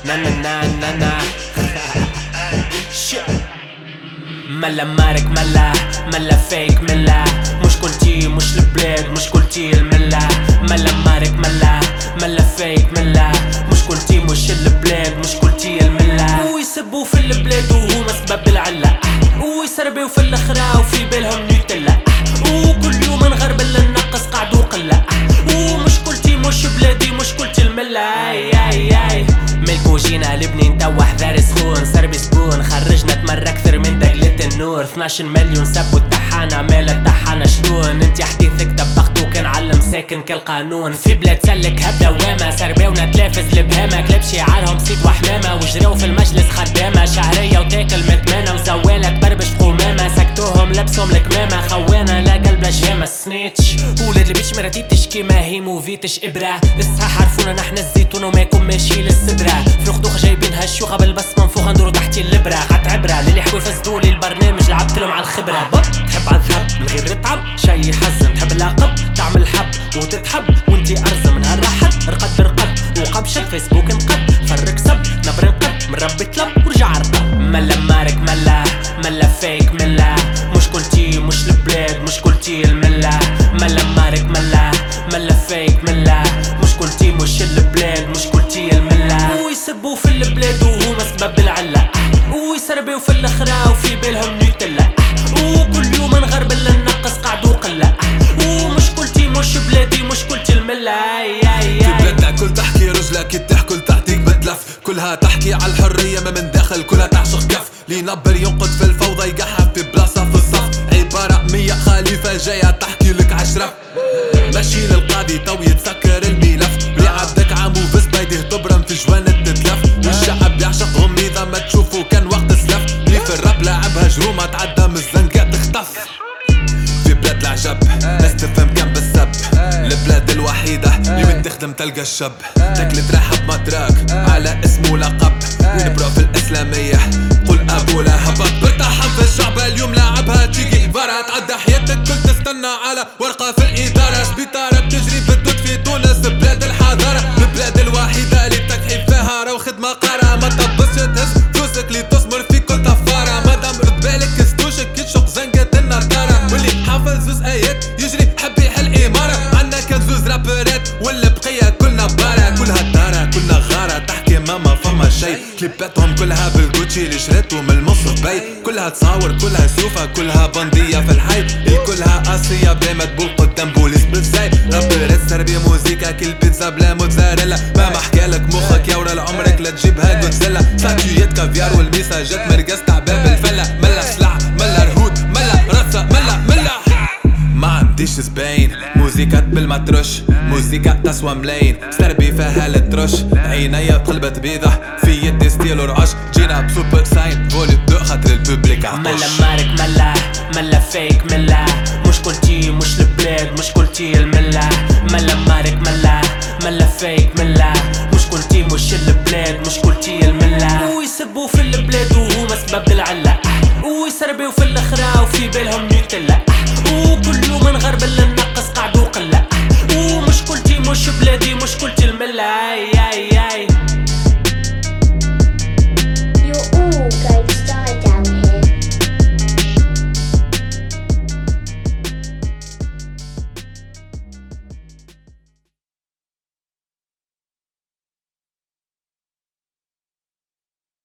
نا نا نا نا نا ملا مارك ملا فيك ملا مش كلتي مش البلاد مش كلتي الملا ملا مارك ملا فيك ملا مش كلتي مش البلاد مش كلتي الملا ويسبوا في البلاد وهما سبب العلا ويسربوا في الاخرى وفي بالهم نيوتلا وكل يوم نغرب ننقص قعدوا قلة ومش كلتي مش بلادي مش كلتي الملا اي ملكو جينا لبنان توا حذار سخون سربي سبون خرجنا تمر اكثر من دقلة النور 12 مليون سبوا التحانة مال التحانة شلون انت حديثك طبختو كان علم ساكن كالقانون في بلاد سلك هبدا واما سرباونا تلافز البهامة كلاب شعارهم صيد وحمامة وجراو في المجلس خدامة شهرية وتاكل متمانة وزوالة تبربش قمامة سكتوهم لبسهم الكمامة خوانا لا قلب لا جامة سنيتش ولاد البيش مراتي تشكي ما هي موفيتش ابرة الصحة عرفونا نحن الزيتون وماكم ماشي للسدرة في الخدوخ جايبينها الشوخة بالبصمة منفوخة ندورو تحتي اللبرة غات عبرة للي حكوا يفسدولي البرنامج لعبتلهم على الخبرة بط تحب عالذهب من غير تعب شي يحزن تحب العقب تعمل حب وتتحب وانتي ارزة من هالراحت رقد وقبشت فيسبوك انقد فرق سب نبر انقد من ربي طلب ورجع رطب ملا مارك ملا فيك ملا مش كلتي مش البلاد مش كلتي الملا ملا مارك ملا فيك ملا مش كلتي مش البلاد مش كلتي الملا ويسبوا في البلاد وهما سبب العلا ويسربوا في الاخرى وفي بالهم نيوتلا وكل يوم نغرب ننقص قعدوا قلة ومش كلتي مش بلادي مش كلتي الملا في بلادنا كل تحكي رجلك تحكي تعطيك بتلف كلها تحكي على الحرية ما من داخل كلها تعشق كف لي نبر ينقد في الفوضى يقحف في بلاصة في الصف عبارة 100 خليفة جاية تحكي لك عشرف ماشي للقاضي تو يتسكر الملف لي عبدك عمو بس بيده تبرم في جوان تتلف والشعب يعشق غميضة ما تشوفوا كان وقت سلف لي في الراب لعبها جرومة تعدى من الزنقة تختف في بلاد العجب ناس تفهم كان بالسب البلاد الوحيدة اللي من تخدم تلقى الشب تاكل ترحب مدراك على اسم ولقب ونبرأ في الإسلامية قل أبو لهب برتاحب في الشعب اليوم لاعبها تيجي برا تعدى حياتك كل تستنى على ورقة في الإدارة سبيطارة بتجري بالدود في تونس بلاد الحضارة البلاد الوحيدة اللي تكحي فيها راو خدمة قارة ما تبصش تهز فلوسك اللي تثمر في كل طفارة مادام رد بالك كستوشك يتشق زنقة النضارة واللي حافظ زوز آيات يجري حب يحل إمارة عنا كان زوز رابرات والبقية كلنا بارة كلها دارة كلنا غارة تحكي ما فما شي كليباتهم كلها بالجوتشي اللي شريتو من المصرف باي كلها تصاور كلها سيوفة كلها بندية في الحي الكلها قاسية بلا مدبول قدام بوليس بالزاي رابرات سربي موزيكا كل بيتزا بلا موتزاريلا ما محكالك مخك يا ورا لعمرك لا تجيبها جودزيلا ساتويات كافيار والميساجات مرقص تاع باب الفلة ملا سلع ملا رهود ملا رصة ملا ما عنديش زباين موزيكا بالمترش موزيكا تسوى ملاين سربي فيها الترش عينيا قلبت بيضة في يدي ستيل ورعش جينا بسوبر ساين فولي دو خاطر البوبليك عطش ملا مارك ملا فيك ملا مش كلتي مش البلاد مش كلتي الملا ملا مارك ملا فيك ملا مش كلتي مش البلاد مش كلتي الملا ويسبوا في البلاد وهما سبب العلا ويسربوا في الاخرى وفي بالهم نيوتلا وكل يوم نغرب